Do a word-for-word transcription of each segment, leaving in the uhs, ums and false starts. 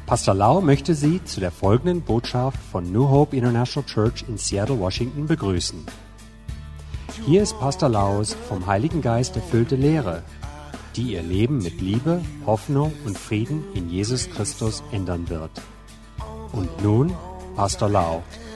Pastor Lau möchte Sie zu der folgenden Botschaft von New Hope International Church in Seattle, Washington begrüßen. Hier ist Pastor Laus vom Heiligen Geist erfüllte Lehre, die Ihr Leben mit Liebe, Hoffnung und Frieden in Jesus Christus ändern wird. Und nun Pastor Lau.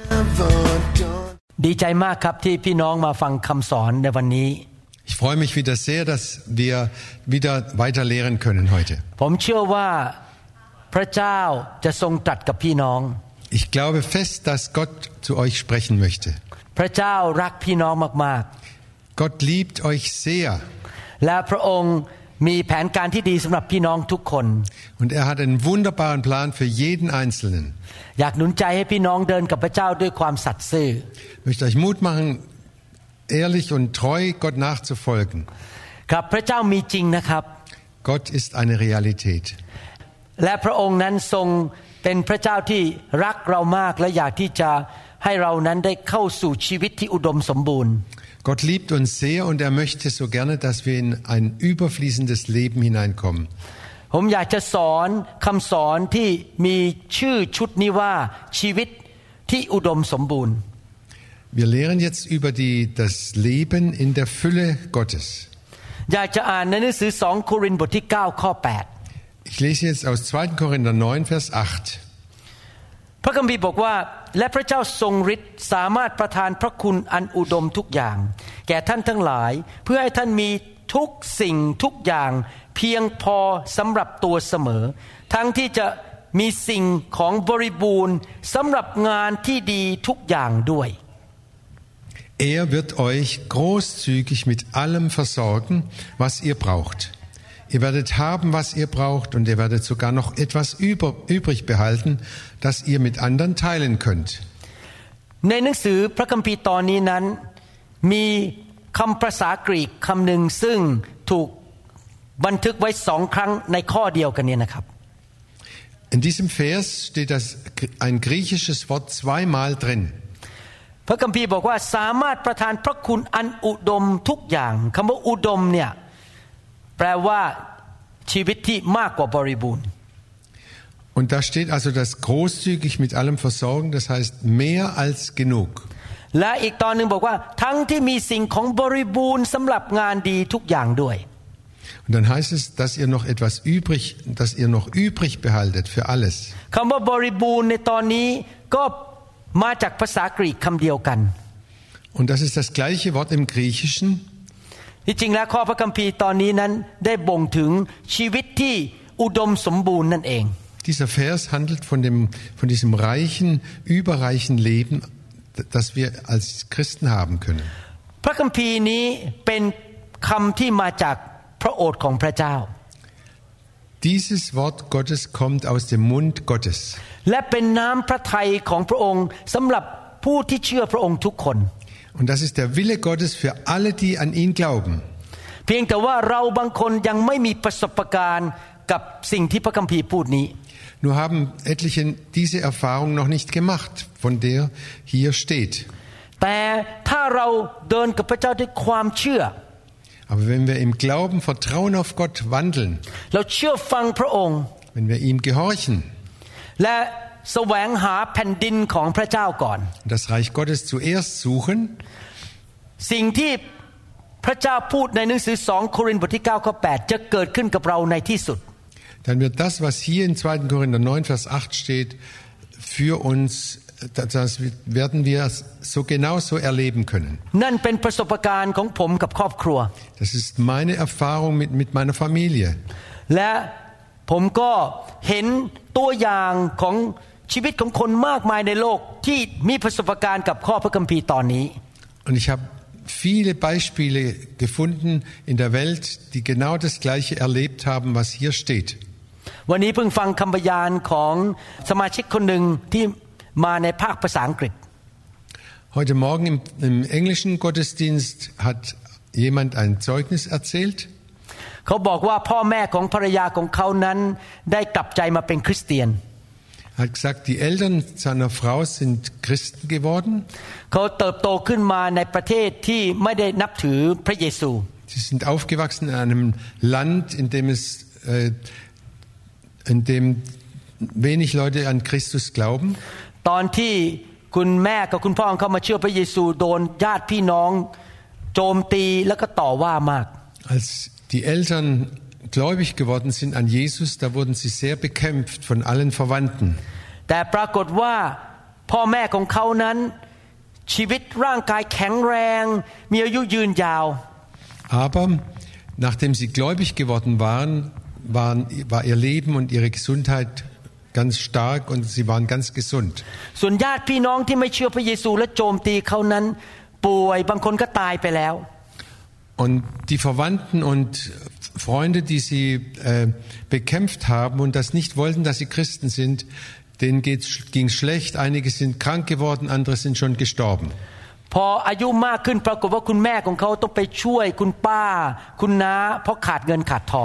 ดีใจมากครับที่พี่น้องมาฟังคำสอนในวันนี้ Ich freue mich wieder sehr, dass wir wieder weiter lehren können heute. ผมเชื่อว่าพระเจ้าจะทรงตรัสกับพี่น้อง Ich glaube fest, dass Gott zu euch sprechen möchte. พระเจ้ารักพี่น้องมากๆ Gott liebt euch sehr. และพระองค์มีแผนการที่ดีสำหรับพี่น้องทุกคน Und er hat einen wunderbaren Plan für jeden Einzelnen. อยากหนุนใจให้พี่น้องเดินกับพระเจ้าด้วยความสัตย์ซื่อ Ich möchte euch Mut machen, ehrlich und treu Gott nachzufolgen. ครับพระเจ้ามีจริงนะครับ Gott ist eine Realität. และพระองค์นั้นทรงเป็นพระเจ้าที่รักเรามากและอยากที่จะให้เรานั้นได้เข้าสู่ชีวิตที่อุดมสมบูรณ์ Gott liebt uns sehr und er möchte so gerne, dass wir in ein überfließendes Leben hineinkommen. ผมอยากจะสอนคำสอนที่มีชื่อชุดนี้ว่าชีวิตที่อุดมสมบูรณ์ Wir lehren jetzt über die, das Leben in der Fülle Gottes. อยากจะอ่านในหนังสือสองโครินธ์บทที่เก้าข้อแปด Ich lese jetzt aus zweiter Korinther neun, Vers acht. พระคัมภีร์บอกว่าและพระเจ้าทรงฤทธิ์สามารถประทานพระคุณอันอุดมทุกอย่างแก่ท่านทั้งหลายเพื่อให้ท่านมีทุกสิ่งทุกอย่างเพียงพอสำหรับตัวเสมอทั้งที่จะมีสิ่งของบริบูรณ์สำหรับงานที่ดีทุกอย่างด้วย Er wird euch großzügig mit allem versorgen, was ihr braucht. Ihr werdet haben, was ihr braucht, und ihr werdet sogar noch etwas über, übrig behalten, das ihr mit anderen teilen könnt. ในหนังสือพระคัมภีร์ตอนนี้นั้นมีคำภาษากรีกคำหนึ่งซึ่งถูกบันทึกไว้สองครั้งในข้อเดียวกันนี้นะครับ In diesem Vers steht das, ein griechisches Wort zweimal drin. พระคัมภีร์บอกว่าสามารถประทานพระคุณอันอุดมทุกอย่างคำว่าอุดมเนี่ยแปลว่าชีวิตที่มากกว่าบริบูรณ์ Und da steht also das großzügig mit allem versorgen, das heißt mehr als genug. และอีกตอนนึงบอกว่าทั้งที่มีสิ่งของบริบูรณ์สำหรับงานดีทุกอย่างด้วย Und dann heißt es, dass ihr noch etwas übrig, dass ihr noch übrig behaltet für alles. คำว่าบริบูรณ์ในตอนนี้ก็มาจากภาษากรีกคำเดียวกัน Und das ist das gleiche Wort im Griechischen. ที่จริงแล้วข้อพระคัมภีร์ตอนนี้นั้นได้บ่งถึงชีวิตที่อุดมสมบูรณ์นั่นเอง Dieser Vers handelt von dem, von diesem reichen, überreichen Leben, das wir als Christen haben können. พระคัมภีร์นี้เป็นคำที่มาจากพระโอษฐ์ของพระเจ้า Dieses Wort Gottes kommt aus dem Mund Gottes. และเป็นน้ำพระทัยของพระองค์สำหรับผู้ที่เชื่อพระองค์ทุกคน Und das ist der Wille Gottes für alle, die an ihn glauben. เพียงแต่ว่าเราบางคนยังไม่มีประสบการณ์กับสิ่งที่พระคัมภีร์พูดนี้ Nur haben etliche diese Erfahrung noch nicht gemacht, von der hier steht. แต่ถ้าเราเดินกับพระเจ้าด้วยความเชื่อ Aber wenn wir im Glauben, Vertrauen auf Gott wandeln, เราเชื่อฟังพระองค์ wenn wir ihm gehorchen, และแสวงหาแผ่นดินของพระเจ้าก่อน das Reich Gottes zuerst suchen, สิ่งที่พระเจ้าพูดในหนังสือสองโครินธ์บทที่เก้าข้อแปดจะเกิดขึ้นกับเราในที่สุด dann wird das, was hier in zweiter Korinther neun, Vers acht steht, für uns, das werden wir so genau so erleben können. นั่นเป็นประสบการณ์ของผมกับครอบครัว Das ist meine Erfahrung mit, mit meiner Familie. และผมก็เห็นตัวอย่างของชีวิตของคนมากมายในโลกที่มีประสบการณ์กับข้อพระคัมภีร์ตอนนี้ Und ich habe viele Beispiele gefunden in der Welt, die genau das Gleiche erlebt haben, was hier steht. วันนี้เพิ่งฟังคำบรรยายของสมาชิกคนหนึ่งที่มาในภาคภาษาอังกฤษ Heute Morgen im, im englischen Gottesdienst hat jemand ein Zeugnis erzählt. เขาบอกว่าพ่อแม่ของภรรยาของเขานั้นได้กลับใจมาเป็นคริสเตียน Er hat gesagt, die Eltern seiner Frau sind Christen geworden. เขาเติบโตขึ้นมาในประเทศที่ไม่ได้นับถือพระเยซู Sie sind aufgewachsen in einem Land, in dem es, äh, in dem wenig Leute an Christus glauben. ตอนที่คุณแม่กับคุณพ่อของเขามาเชื่อพระเยซูโดนญาติพี่น้องโจมตีแล้วก็ต่อว่ามาก Als die Eltern gläubig geworden sind an Jesus, da wurden sie sehr bekämpft von allen Verwandten. แต่ปรากฏว่าพ่อแม่ของเขานั้นชีวิตร่างกายแข็งแรงมีอายุยืนยาว Aber nachdem sie gläubig geworden waren, waren, war ihr Leben und ihre Gesundheit ganz stark und sie waren ganz gesund. ส่วนญาติพี่น้องที่ไม่เชื่อพระเยซูและโจมตีเขานั้นป่วยบางคนก็ตายไปแล้ว Und die Verwandten und Freunde, die sie äh, bekämpft haben und das nicht wollten, dass sie Christen sind, denen ging es schlecht. Einige sind krank geworden, andere sind schon gestorben. พออายุมากขึ้นปรากฏว่าคุณแม่ของเขาต้องไปช่วยคุณป้าคุณน้าเพราะขาดเงินขาดทอง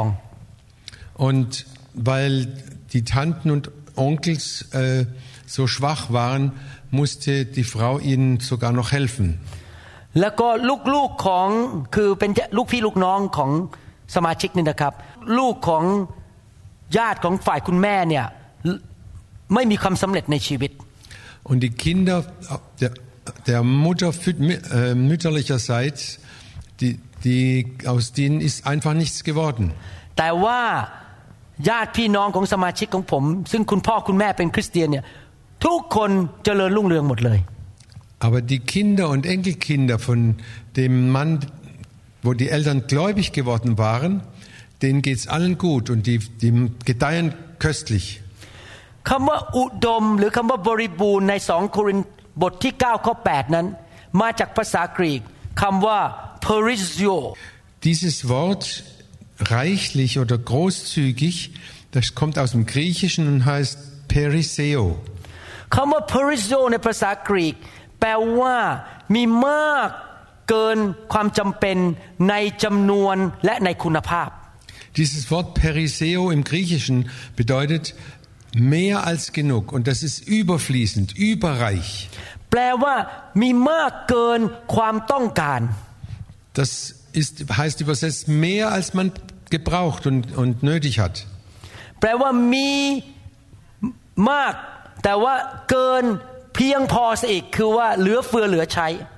Und weil die Tanten und Onkels äh, so schwach waren, musste die Frau ihnen sogar noch helfen. แล้วก็ลูกๆของคือเป็นลูกพี่ลูกน้องของสมาชิกนี่นะครับลูกของญาติของฝ่ายคุณแม่เนี่ยไม่มีความสำเร็จในชีวิต Und die Kinder der, der Mutter äh, mütterlicherseits, die, die, aus denen ist einfach nichts geworden. แต่ว่าญาติพี่น้องของสมาชิกของผมซึ่งคุณพ่อคุณแม่เป็นคริสเตียนเนี่ยทุกคนเจริญรุ่งเรืองหมดเลย Aber die Kinder und Enkelkinder von dem Mann, wo die Eltern gläubig geworden waren, denen geht's allen gut und die, die gedeihen köstlich. คำว่าอุดมหรือคำว่าบริบูรณ์ในสองโครินธ์บทที่เก้าข้อแปดนั้นมาจากภาษากรีกคำว่า perisio Dieses Wort reichlich oder großzügig, das kommt aus dem Griechischen und heißt periseo. คำว่า perisio ในภาษากรีกแปลว่ามีมากเกินความจำเป็นในจำนวนและในคุณภาพ Dieses Wort periseo im Griechischen bedeutet mehr als genug und das ist überfließend, überreich. แปลว่ามีมากเกินความต้องการ Das ist, heißt übersetzt mehr als man gebraucht und, und nötig hat. แปลว่ามีมากแต่ว่าเกินเพียงพอซะอีกคือว่าเหลือเฟือเหลือใช้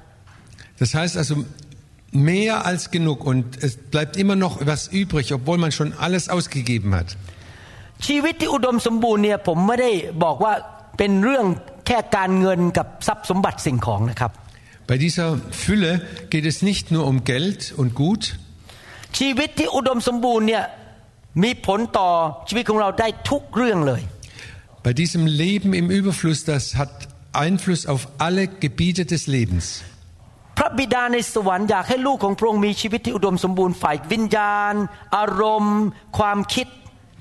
Das heißt also mehr als genug und es bleibt immer noch was übrig, obwohl man schon alles ausgegeben hat. ชีวิตที่อุดมสมบูรณ์เนี่ยผมไม่ได้บอกว่าเป็นเรื่องแค่การเงินกับทรัพย์สมบัติสิ่งของนะครับ Bei dieser Fülle geht es nicht nur um Geld und Gut. ชีวิตที่อุดมสมบูรณ์เนี่ยมีผลต่อชีวิตของเราได้ทุกเรื่องเลย Bei diesem Leben im Überfluss, das hat Einfluss auf alle Gebiete des Lebens. พระบิดาในสวรรค์อยากให้ลูกของพระองค์มีชีวิตที่อุดมสมบูรณ์ฝ่ายวิญญาณอารมณ์ความคิด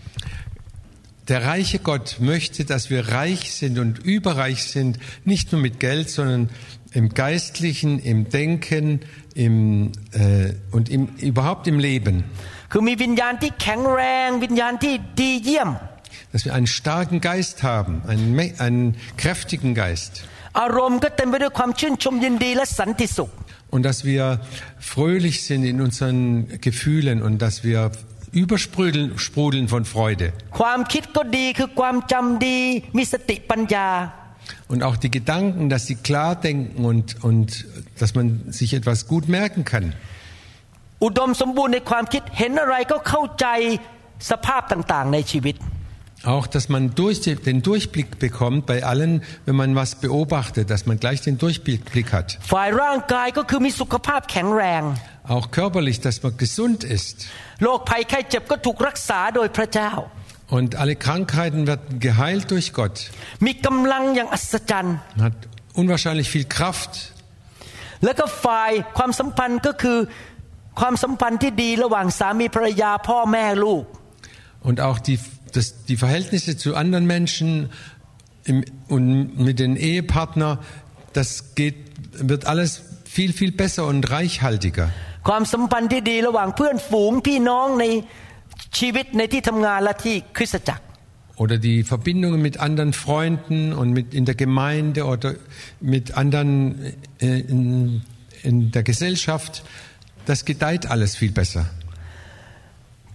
Der reiche Gott möchte, dass wir reich sind und überreich sind, nicht nur mit Geld, sondern im Geistlichen, im Denken, im, äh, und im, überhaupt im Leben. คือมีวิญญาณที่แข็งแรงวิญญาณที่ดีเยี่ยม Dass wir einen starken Geist haben, einen, einen kräftigen Geist. อารมณ์ก็เต็มไปด้วยความชื่นชมยินดีและสันติสุข Und dass wir fröhlich sind in unseren Gefühlen und dass wir übersprudeln sprudeln von Freude. ความคิดก็ดีคือความจำดีมีสติปัญญา Und auch die Gedanken, dass sie klar denken und, und dass man sich etwas gut merken kann. อุดมสมบูรณ์ในความคิดเห็นอะไรก็เข้าใจสภาพต่างๆในชีวิต Auch, dass man durch den Durchblick bekommt bei allen, wenn man was beobachtet, dass man gleich den Durchblick hat. ฝ่ายร่างกายก็คือมีสุขภาพแข็งแรง Auch körperlich, dass man gesund ist. โรคภัยไข้เจ็บก็ถูกรักษาโดยพระเจ้า Und alle Krankheiten werden geheilt durch Gott. มีกำลังอย่างอัศจรรย์ Man hat unwahrscheinlich viel Kraft. แล้วก็ฝ่ายความสัมพันธ์ก็คือความสัมพันธ์ที่ดีระหว่างสามีภรรยาพ่อแม่ลูก Und auch die, das, die Verhältnisse zu anderen Menschen im, und mit den Ehepartnern, das geht, wird alles viel, viel besser und reichhaltiger. ความสัมพันธ์ที่ดีระหว่างเพื่อนฝูงพี่น้องในชีวิตในที่ทำงานและที่คริสตจักร Oder die Verbindungen mit anderen Freunden und mit in der Gemeinde oder mit anderen in, in der Gesellschaft, das gedeiht alles viel besser.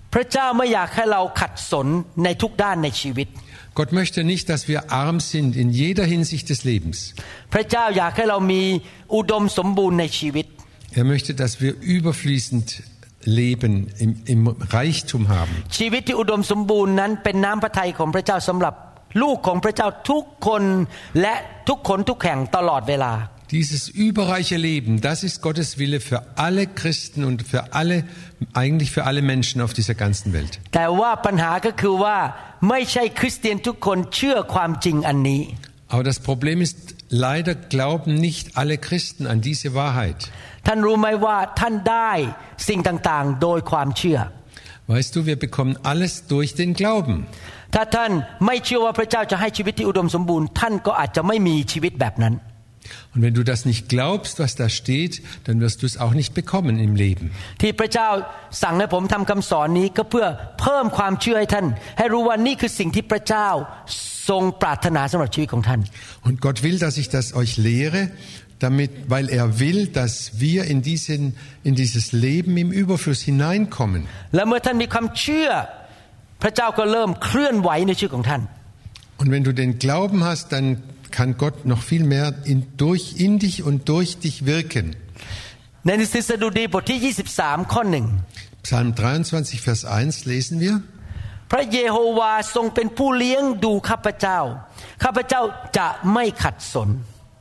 พระเจ้าไม่อยากให้เราขัดสนในทุกด้านในชีวิต Gott möchte nicht, dass wir arm sind in jeder Hinsicht des Lebens. พระเจ้าอยากให้เรามีอุดมสมบูรณ์ในชีวิต Er möchte, dass wir überfließend leben, im, im Reichtum haben. ชีวิตที่อุดมสมบูรณ์นั้นเป็นน้ำพระทัยของพระเจ้าสำหรับลูกของพระเจ้าทุกคนและทุกคนทุกแห่งตลอดเวลา Dieses überreiche Leben, das ist Gottes Wille für alle Christen und für alle, eigentlich für alle Menschen auf dieser ganzen Welt. แต่ว่าปัญหาก็คือว่าไม่ใช่คริสเตียนทุกคนเชื่อความจริงอันนี้ Aber das Problem ist, leider glauben nicht alle Christen an diese Wahrheit. ท่านรู้ไหมว่าท่านได้สิ่งต่างๆโดยความเชื่อ Weißt du, wir bekommen alles durch den Glauben. ถ้าท่านไม่เชื่อว่าพระเจ้าจะให้ชีวิตที่อุดมสมบูรณ์ท่านก็อาจจะไม่มีชีวิตแบบนั้น Und wenn du das nicht glaubst, was da steht, dann wirst du es auch nicht bekommen im Leben. ที่พระเจ้าสั่งให้ผมทำคำสอนนี้ก็เพื่อเพิ่มความเชื่อให้ท่านให้รู้ว่านี่คือสิ่งที่พระเจ้าทรงปรารถนาสำหรับชีวิตของท่าน Und Gott will, dass ich das euch lehre, damit, weil er will, dass wir in diesen, in dieses Leben im Überfluss hineinkommen. และเมื่อท่านมีความเชื่อพระเจ้าก็เริ่มเคลื่อนไหวในชีวิตของท่าน Und wenn du den Glauben hast, dann kann Gott noch viel mehr in, durch, in dich und durch dich wirken. ในหนังสือสดุดีบทที่ยี่สิบสามข้อหนึ่ง Psalm dreiundzwanzig, Vers eins lesen wir. พระเยโฮวาทรงเป็นผู้เลี้ยงดูข้าพเจ้าข้าพเจ้าจะไม่ขัดสน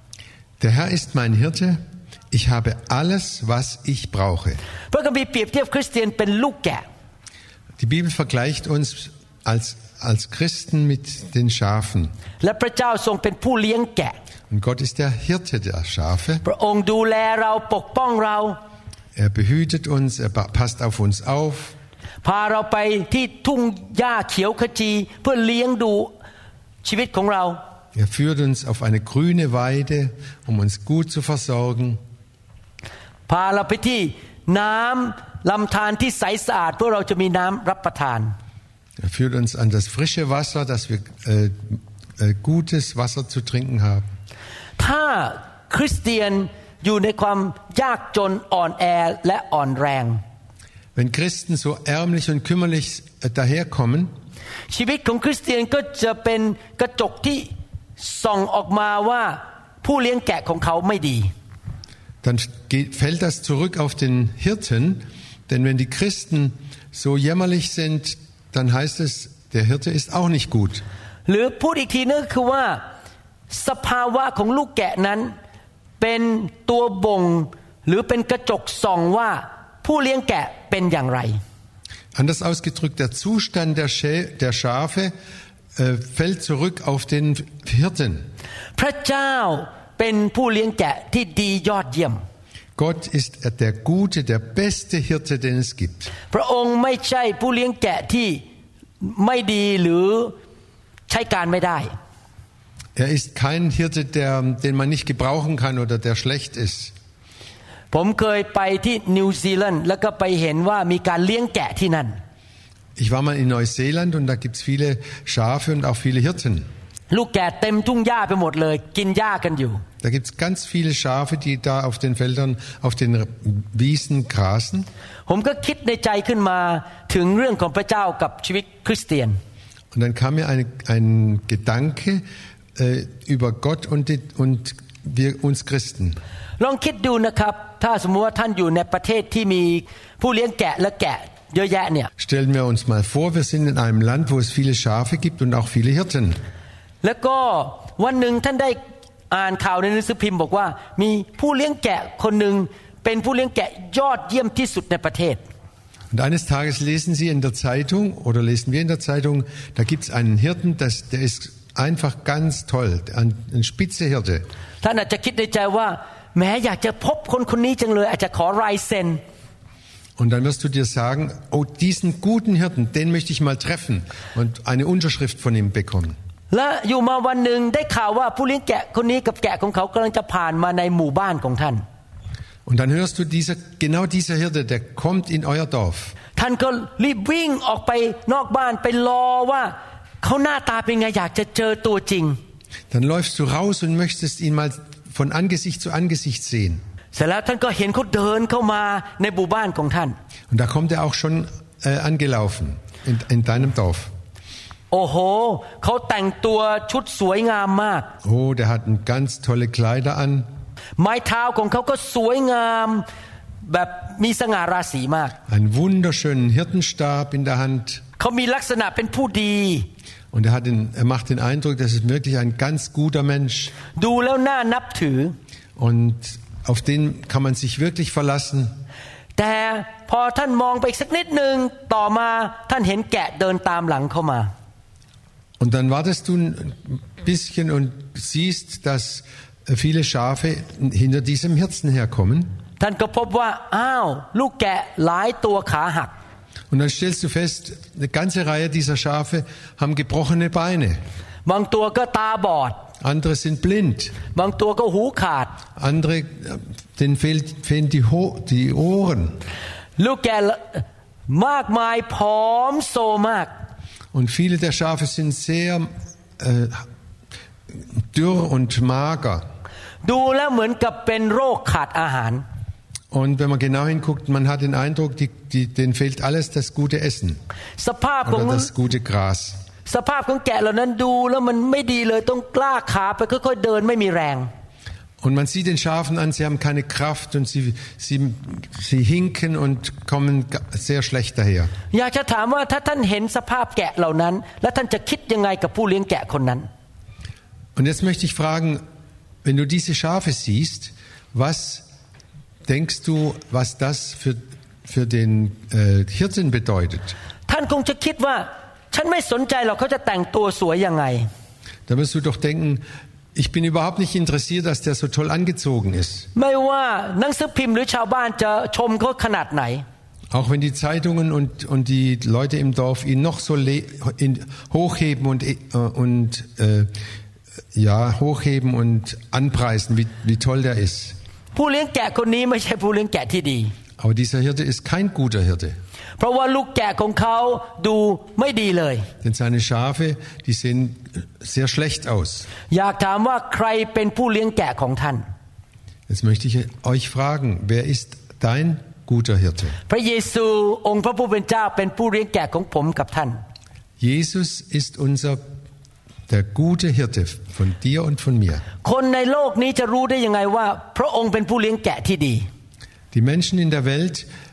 Der Herr ist mein Hirte, ich habe alles, was ich brauche. พระคัมภีร์เปรียบเทียบคริสเตียนเป็นลูกแกะ Die Bibel vergleicht uns als, als Christen mit den Schafen. และพระเจ้าทรงเป็นผู้เลี้ยงแกะ Und Gott ist der Hirte der Schafe. พระองค์ดูแลเราปกป้องเรา Er behütet uns, er passt auf uns auf. พาเราไปที่ทุ่งหญ้าเขียวขจีเพื่อเลี้ยงดูชีวิตของเรา Er führt uns auf eine grüne Weide, um uns gut zu versorgen. พาเราไปที่น้ำลำธารที่ใสสะอาดเพื่อเราจะมีน้ำรับประทาน Er führt uns an das frische Wasser, dass wir äh, äh, gutes Wasser zu trinken haben. ถ้าคริสเตียนอยู่ในความยากจนอ่อนแอและอ่อนแรง Wenn Christen so ärmlich und kümmerlich äh, daherkommen, ชีวิตของคริสเตียนก็จะเป็นกระจกที่ส่องออกมาว่าผู้เลี้ยงแกะของเขาไม่ดี dann geht, fällt das zurück auf den Hirten, denn wenn die Christen so jämmerlich sind, dann heißt es, der Hirte ist auch nicht gut. หรือพูดอีกทีนึงคือว่าสภาวะของลูกแกะนั้นเป็นตัวบ่งหรือเป็นกระจกส่องว่าผู้เลี้ยงแกะเป็นอย่างไร Anders ausgedrückt, der Zustand der, Schä- der Schafe äh, fällt zurück auf den Hirten. พระเจ้าเป็นผู้เลี้ยงแกะที่ดียอดเยี่ยม Gott ist der gute, der beste Hirte, den es gibt. พระองค์ไม่ใช่ผู้เลี้ยงแกะที่ไม่ดีหรือใช้การไม่ได้ Er ist kein Hirte, der, den man nicht gebrauchen kann oder der schlecht ist. ผมเคยไปที่นิวซีแลนด์แล้วก็ไปเห็นว่ามีการเลี้ยงแกะที่นั่น Ich war mal in Neuseeland und da gibt's viele Schafe und auch viele Hirten. ลูกแกะเต็มทุ่งหญ้าไปหมดเลยกินหญ้ากันอยู่ Da gibt's ganz viele Schafe, die da auf den Feldern, auf den Wiesen grasen. ผมก็คิดในใจขึ้นมาถึงเรื่องของพระเจ้ากับชีวิตคริสเตียน Und dann kam mir ein, ein Gedanke äh, über Gott und, die, und wir uns Christen. ลองคิดดูนะครับถ้าสมมติว่าท่านอยู่ในประเทศที่มีผู้เลี้ยงแกะและแกะเยอะแยะเนี่ย Stellen wir uns mal vor, wir sind in einem Land, wo es viele Schafe gibt und auch viele Hirten. แล้วก็วันหนึ่งท่านได้อ่านข่าวในหนังสือพิมพ์บอกว่ามีผู้เลี้ยงแกะคนหนึ่งเป็นผู้เลี้ยงแกะยอดเยี่ยมที่สุดในประเทศ Und eines Tages lesen Sie in der Zeitung oder lesen wir in der Zeitung, da gibt es einen Hirten, das, der ist einfach ganz toll, ein, ein Spitzehirte. ท่านอาจจะคิดในใจว่าแม้อยากจะพบคนคนนี้จังเลยอาจจะขอลายเซ็น Und dann wirst du dir sagen, oh, diesen guten Hirten, den möchte ich mal treffen und eine Unterschrift von ihm bekommen. และอยู่มาวันหนึ่งได้ข่าวว่าผู้เลี้ยงแกะคนนี้กับแกะของเขากำลังจะผ่านมาในหมู่บ้านของท่าน Und dann hörst du, dieser, genau dieser Hirte, der kommt in euer Dorf. ท่านก็รีบวิ่งออกไปนอกบ้านไปรอว่าเขาหน้าตาเป็นไงอยากจะเจอตัวจริง Dann läufst du raus und möchtest ihn mal von Angesicht zu Angesicht sehen. เสร็จแล้วท่านก็เห็นเขาเดินเข้ามาในหมู่บ้านของท่าน Und da kommt er auch schon äh, angelaufen in, in deinem Dorf. โอ้โหเขาแต่งตัวชุดสวยงามมาก Oh, der hat ganz tolle Kleider an. ไม้เท้าของเขาก็สวยงามแบบมีสง่าราศีมาก Einen wunderschönen Hirtenstab in der Hand. เขามีลักษณะเป็นผู้ดี Und er, hat den, er macht den Eindruck, das ist wirklich ein ganz guter Mensch. ดูแล้วน่านับถือ Und auf den kann man sich wirklich verlassen. แต่พอท่านมองไปอีกสักนิดนึงต่อมาท่านเห็นแกะเดินตามหลังเข้ามา Und dann wartest du ein bisschen und siehst, dass viele Schafe hinter diesem Hirten herkommen. ท่านก็พบว่าอ้าวลูกแกะหลายตัวขาหัก Und dann stellst du fest, eine ganze Reihe dieser Schafe haben gebrochene Beine. บางตัวก็ตาบอด Andere sind blind. บางตัวก็หูขาด Andere, denen fehlt, fehlen die, Ho- die Ohren. ลูกแกะมากมายผอมโซมาก Und viele der Schafe sind sehr äh, dürr und mager. ดูแล้วเหมือนกับเป็นโรคขาดอาหาร Und wenn man genau hinguckt, man hat den Eindruck, die, die, denen fehlt alles das gute Essen สภาพของ oder das gute Gras. สภาพของแกะเหล่านั้นดูแล้วมันไม่ดีเลยต้องกล้าขาไปค่อยๆเดินไม่มีแรง Und man sieht den Schafen an, sie haben keine Kraft und sie, sie, sie hinken und kommen sehr schlecht daher. อยากจะถามว่าถ้าท่านเห็นสภาพแกะเหล่านั้นแล้วท่านจะคิดยังไงกับผู้เลี้ยงแกะคนนั้น Und jetzt möchte ich fragen, wenn du diese Schafe siehst, was denkst du, was das für, für den äh, Hirten bedeutet? ท่านคงจะคิดว่าฉันไม่สนใจหรอกเขาจะแต่งตัวสวยยังไง Da wirst du doch denken, ich bin überhaupt nicht interessiert, dass der so toll angezogen ist. ไม่ว่าหนังสือพิมพ์หรือชาวบ้านจะชมเขาขนาดไหน Auch wenn die Zeitungen und, und die Leute im Dorf ihn noch so le- in, hochheben und, äh, und äh, ja, hochheben und anpreisen, wie, wie toll der ist. ผู้เลี้ยงแกะคนนี้ไม่ใช่ผู้เลี้ยงแกะที่ดี Aber dieser Hirte ist kein guter Hirte. เพราะว่าลูกแกะของเขาดูไม่ดีเลย Denn seine Schafe, die sehen sehr schlecht aus. อยากถามว่าใครเป็นผู้เลี้ยงแกะของท่าน Jetzt möchte ich euch fragen, wer ist dein guter Hirte? พระเยซูองค์พระผู้เป็นเจ้าเป็นผู้เลี้ยงแกะของผมกับท่าน Jesus ist unser der gute Hirte von dir und von mir. คนในโลกนี้จะรู้ได้ยังไงว่าพระองค์เป็นผู้เลี้ยงแกะที่ดี Die Menschen in der Welt,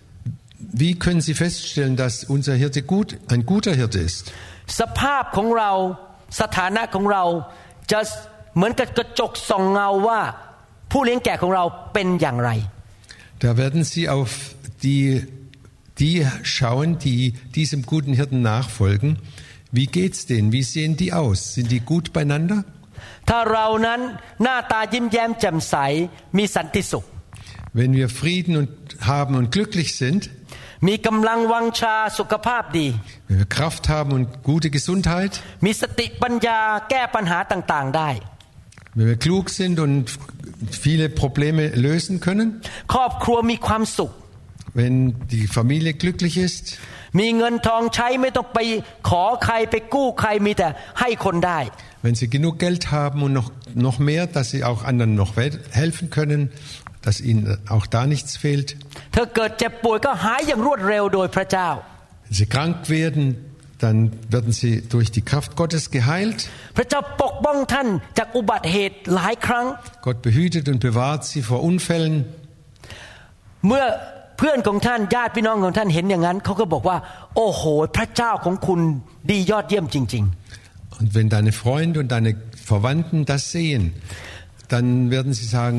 wie können sie feststellen, dass unser Hirte gut, ein guter Hirte ist? สภาพของเราสถานะของเราจะเหมือนกับกระจกส่องเงาว่าผู้เลี้ยงแกะของเราเป็นอย่างไร Da werden sie auf die, die schauen, die diesem guten Hirten nachfolgen. Wie geht's denen? Wie sehen die aus? Sind die gut beieinander? ถ้าเรานั้นหน้าตายิ้มแย้มแจ่มใสมีสันติสุข Wenn wir Frieden und haben und glücklich sind, มีกำลังวังชาสุขภาพดี wenn wir Kraft haben und gute Gesundheit, มีสติปัญญาแก้ปัญหาต่างๆได้ wenn wir klug sind und viele Probleme lösen können, ครอบครัวมีความสุข wenn die Familie glücklich ist, มีเงินทองใช้ไม่ต้องไปขอใครไปกู้ใครมีแต่ให้คนได้ wenn sie genug Geld haben und noch, noch mehr, dass sie auch anderen noch helfen können, dass ihnen auch da nichts fehlt. เธอเกิดเจ็บป่วยก็หายอย่างรวดเร็วโดยพระเจ้า Wenn sie krank werden, dann werden sie durch die Kraft Gottes geheilt. พระเจ้าปกป้องท่านจากอุบัติเหตุหลายครั้ง Gott behütet und bewahrt sie vor Unfällen. เมื่อเพื่อนของท่านญาติพี่น้องของท่านเห็นอย่างนั้นเขาก็บอกว่าโอ้โหพระเจ้าของคุณดียอดเยี่ยมจริงๆ Und wenn deine Freunde und deine Verwandten das sehen, dann werden sie sagen,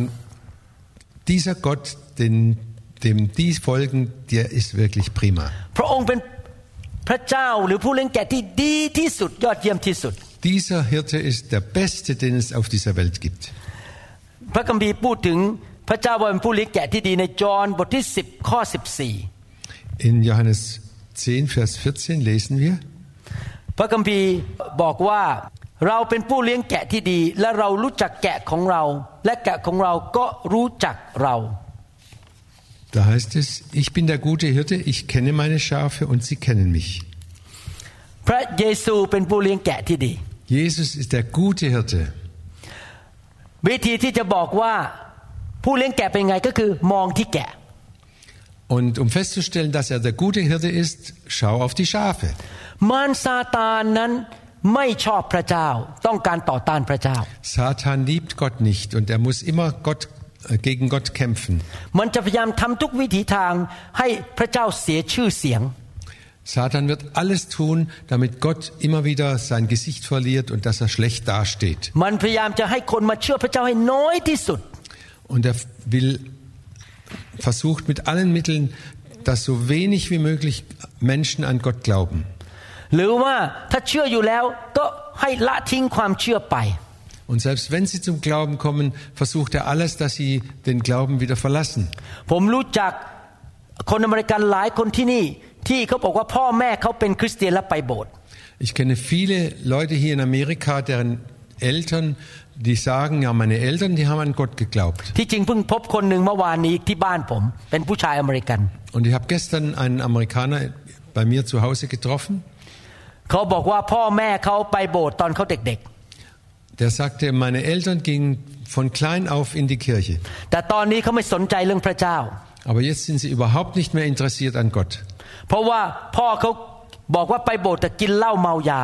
dieser Gott, den, dem die folgen, der ist wirklich prima. พระองค์เป็นพระเจ้าหรือผู้เลี้ยงแกะที่ดีที่สุดยอดเยี่ยมที่สุด Dieser Hirte ist der beste, den es auf dieser Welt gibt. พระคัมภีร์พูดถึงพระเจ้าว่าเป็นผู้เลี้ยงแกะที่ดีในจอห์นบทที่สิบข้อสิบสี่ In Johannes zehn, Vers vierzehn lesen wir, พระคัมภีร์บอกว่าเราเป็นผู้เลี้ยงแกะที่ดีและเรารู้จักแกะของเราและแกะของเราก็รู้จักเรา da heißt es, ich bin der gute Hirte, ich kenne meine Schafe und sie kennen mich. พระเยซูเป็นผู้เลี้ยงแกะที่ดี Jesus ist der gute Hirte. วิธีที่จะบอกว่าผู้เลี้ยงแกะเป็นไงก็คือมองที่แกะ Und um festzustellen, dass er der gute Hirte ist, schau auf die Schafe. มารซาตานนั้นไม่ชอบพระเจ้าต้องการต่อต้านพระเจ้า Satan liebt Gott nicht und er muss immer Gott, äh, gegen Gott kämpfen. มันจะพยายามทำทุกวิถีทางให้พระเจ้าเสียชื่อเสียง Satan wird alles tun, damit Gott immer wieder sein Gesicht verliert und dass er schlecht dasteht. มันพยายามจะให้คนมาเชื่อพระเจ้าให้น้อยที่สุด Und er will versucht mit allen Mitteln, dass so wenig wie möglich Menschen an Gott glauben. หรือว่าถ้าเชื่ออยู่แล้วก็ให้ละทิ้งความเชื่อไป Und selbst wenn sie zum Glauben kommen, versucht er alles, dass sie den Glauben wieder verlassen. ผมรู้จักคนอเมริกันหลายคนที่นี่ที่เขาบอกว่าพ่อแม่เขาเป็นคริสเตียนและไปโบสถ์ Ich kenne viele Leute hier in Amerika, deren Eltern, die sagen, ja, meine Eltern, die haben an Gott geglaubt. ที่จริงเพิ่งพบคนหนึ่งเมื่อวานนี้ที่บ้านผมเป็นผู้ชายอเมริกัน Und ich habe gestern einen Amerikaner bei mir zu Hause getroffen. เขาบอกว่าพ่อแม่เขาไปโบสถ์ตอนเขาเด็กๆ Der sagte, meine Eltern gingen von klein auf in die Kirche. แต่ตอนนี้เขาไม่สนใจเรื่องพระเจ้า Aber jetzt sind sie überhaupt nicht mehr interessiert an Gott. เพราะว่าพ่อเขาบอกว่าไปโบสถ์แต่กินเหล้าเมายา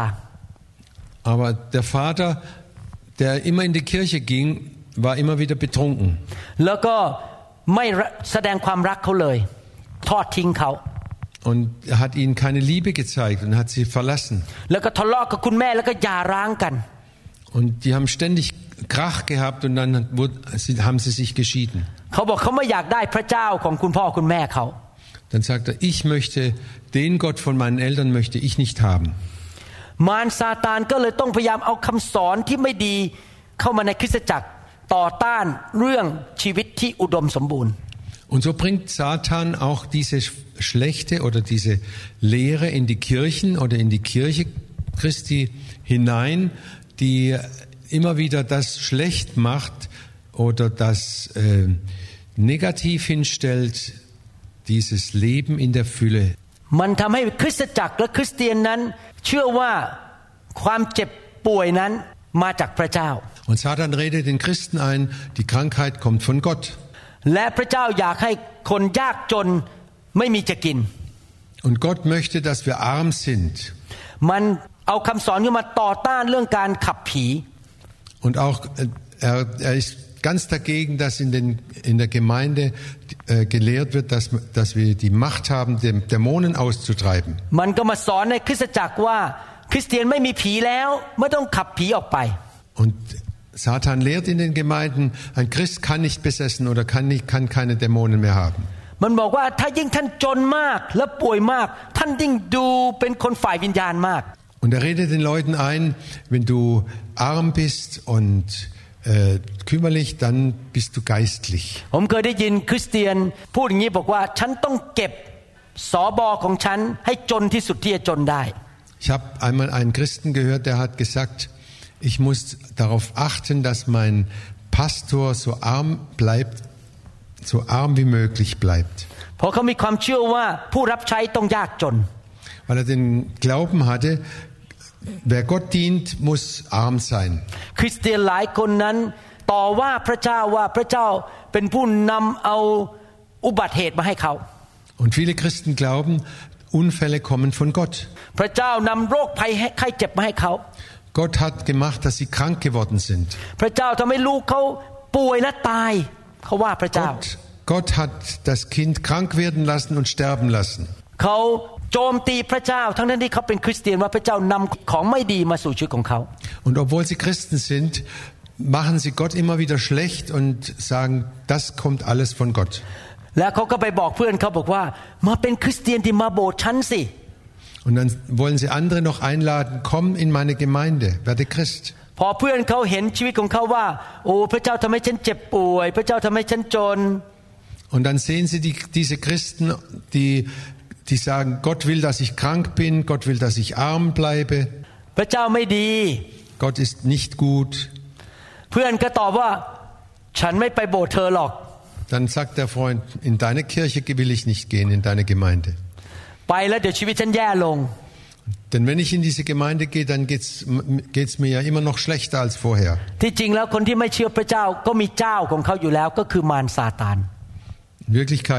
Aber der Vater, der immer in die Kirche ging, war immer wieder betrunken. แล้วก็ไม่แสดงความรักเขาเลยทอดทิ้งเขา Und er hat ihnen keine Liebe gezeigt und hat sie verlassen. แล้วก็ทะเลาะกับคุณแม่แล้วก็หย่าร้างกัน Und die haben ständig Krach gehabt und dann haben sie sich geschieden. เขาบอกเขาไม่อยากได้พระเจ้าของคุณพ่อคุณแม่เขา Dann sagt er, ich möchte, den Gott von meinen Eltern möchte ich nicht haben. มารซาตานก็เลยต้องพยายามเอาคำสอนที่ไม่ดีเข้ามาในคริสตจักรต่อต้านเรื่องชีวิตที่อุดมสมบูรณ์ Und so bringt Satan auch diese schlechte oder diese Lehre in die Kirchen oder in die Kirche Christi hinein, die immer wieder das schlecht macht oder das äh, negativ hinstellt, dieses Leben in der Fülle. มันทำให้คริสตจักรและคริสเตียนนั้นเชื่อว่าความเจ็บป่วยนั้นมาจากพระเจ้า Und Satan redet den Christen ein, die Krankheit kommt von Gott. และพระเจ้าอยากให้คนยากจนไม่มีจะกิน Und Gott möchte, dass wir arm sind. มันเอาคำสอนขึ้นมาต่อต้านเรื่องการขับผี Und auch er, er ist ganz dagegen, dass in, den, in der Gemeinde äh, gelehrt wird, dass, dass wir die Macht haben, den Dämonen auszutreiben. มันก็มาสอนในคริสตจักรว่าคริสเตียนไม่มีผีแล้วไม่ต้องขับผีออกไป Und Satan lehrt in den Gemeinden, ein Christ kann nicht besessen oder kann, nicht, kann keine Dämonen mehr haben. มันบอกว่าถ้ายิ่งท่านจนมากและป่วยมากท่านยิ่งดูเป็นคนฝ่ายวิญญาณมาก Und er redet den Leuten ein, wenn du arm bist und äh, kümmerlich, dann bist du geistlich. ผมเคยได้ยินคริสเตียนพูดอย่างนี้บอกว่าฉันต้องเก็บสบของฉันให้จนที่สุดที่จะจนได้ Ich habe einmal einen Christen gehört, der hat gesagt, ich muss darauf achten, dass mein Pastor so arm bleibt, so arm wie möglich bleibt. เพราะเขามีความเชื่อว่าผู้รับใช้ต้องยากจน Weil er den Glauben hatte, wer Gott dient, muss arm sein. คริสเตียนหลายคนนั้นต่อว่าพระเจ้าว่าพระเจ้าเป็นผู้นำเอาอุบัติเหตุมาให้เขา Und viele Christen glauben, Unfälle kommen von Gott. พระเจ้านำโรคภัยไข้เจ็บมาให้เขา Gott hat gemacht, dass sie krank geworden sind. พระเจ้าทำให้ลูกเขาป่วยและตายเขาว่าพระเจ้า Gott, Gott hat das Kind krank werden lassen und sterben lassen. เขาโจมตีพระเจ้าทั้งที่เขาเป็นคริสเตียนว่าพระเจ้านำของไม่ดีมาสู่ชีวิตของเขา Und obwohl sie Christen sind, machen sie Gott immer wieder schlecht und sagen, das kommt alles von Gott. แล้วเขาก็ไปบอกเพื่อนเขาบอกว่ามาเป็นคริสเตียนที่มาโบสถ์ฉันสิ Und dann wollen sie andere noch einladen, komm in meine Gemeinde, werde Christ. พอเพื่อนเขาเห็นชีวิตของเขาว่าโอ้พระเจ้าทำให้ฉันเจ็บป่วยพระเจ้าทำให้ฉันจน Und dann sehen sie die, diese Christen, die, die sagen, Gott will, dass ich krank bin, Gott will, dass ich arm bleibe. พระเจ้าไม่ดี Gott ist nicht gut. เพื่อนก็ตอบว่าฉันไม่ไปโบสถ์เธอหรอก Dann sagt der Freund, in deine Kirche will ich nicht gehen, in deine Gemeinde. ไปแล้วเดี๋ยวชีวิตฉันแย่ลง Denn wenn ich in diese Gemeinde gehe, dann geht's, geht's mir ja immer noch schlechter als vorher. ที่จริงแล้วคนที่ไม่เชื่อพระเจ้าก็มีเจ้าของเขาอยู่แล้วก็คือมารซาตาน In Wirklichkeit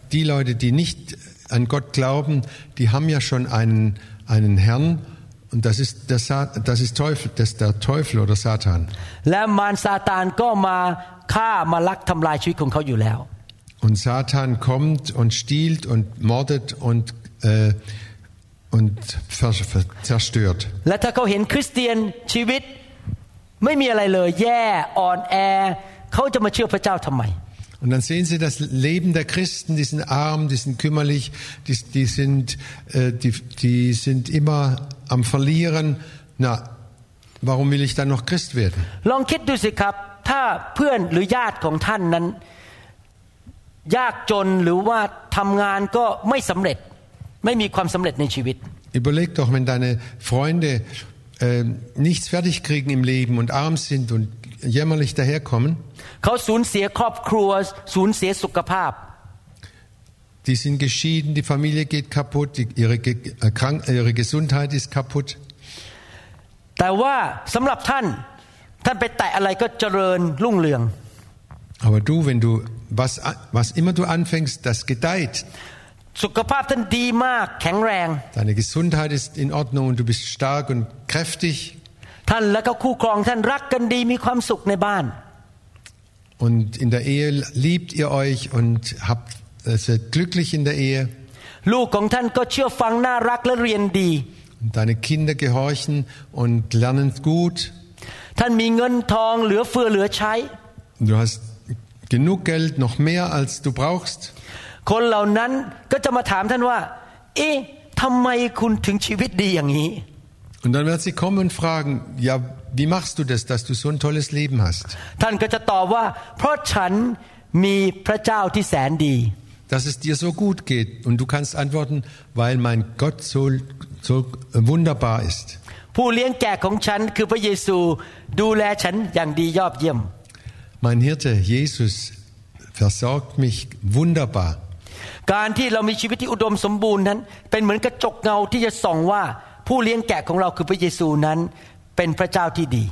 die Leute, die nicht an Gott glauben, die haben ja schon einen, einen Herrn und das ist, der Sa- das ist Teufel, das ist der Teufel oder Satan. และมารซาตานก็มาฆ่ามาลักทำลายชีวิตของเขาอยู่แล้ว Und Satan kommt und stiehlt und mordet und, äh, und ver- ver- zerstört. และถ้าเขาเห็นคริสเตียนชีวิตไม่มีอะไรเลยแย่อ่อนแอเขาจะมาเชื่อพระเจ้าทำไม Und dann sehen Sie das Leben der Christen, die sind arm, die sind kümmerlich, die, die, sind, äh, die, die sind immer am Verlieren. Na, warum will ich dann noch Christ werden? ลองคิดดูสิครับถ้าเพื่อนหรือญาติของท่านนั้นยากจนหรือว่าทำงานก็ไม่สำเร็จไม่มีความสำเร็จในชีวิต Überleg doch, wenn deine Freunde äh, nichts fertig kriegen im Leben und arm sind und jämmerlich daherkommen, เขาสูญเสียครอบครัวสูญเสียสุขภาพ die sind geschieden, die Familie geht kaputt, die, ihre, äh, krank, ihre Gesundheit ist kaputt. แต่ว่าสำหรับท่านท่านไปแตะอะไรก็เจริญรุ่งเรือง Aber du, wenn du was, was immer du anfängst, das gedeiht. สุขภาพท่านดีมากแข็งแรง Deine Gesundheit ist in Ordnung und du bist stark und kräftig. ท่านและก็คู่ครองท่านรักกันดีมีความสุขในบ้าน Und in der Ehe liebt ihr euch und habt äh, seid glücklich in der Ehe. ลูกของท่านก็เชื่อฟังน่ารักและเรียนดี Und deine Kinder gehorchen und lernen gut. ท่านมีเงินทองเหลือเฟือเหลือใช้ Du hast genug Geld, noch mehr als du brauchst. คนเหล่านั้นก็จะมาถามท่านว่าเอ๊ะทำไมคุณถึงชีวิตดีอย่างนี้ Und dann wird sie kommen und fragen, ja, wie machst du das, dass du so ein tolles Leben hast? ท่านก็จะตอบว่าเพราะฉันมีพระเจ้าที่แสนดี Dass es dir so gut geht. Und du kannst antworten, weil mein Gott so, so wunderbar ist. ผู้เลี้ยงแกะของฉันคือพระเยซูดูแลฉันอย่างดียอดเยี่ยม Mein Hirte, Jesus, versorgt mich wunderbar. การที่เรามีชีวิตที่อุดมสมบูรณ์นั้นเป็นเหมือนกระจกเงาที่จะส่องว่าผู้เลี้ยงแกะของเราคือพระเยซูนั้นเป็นพระเจ้าที่ดี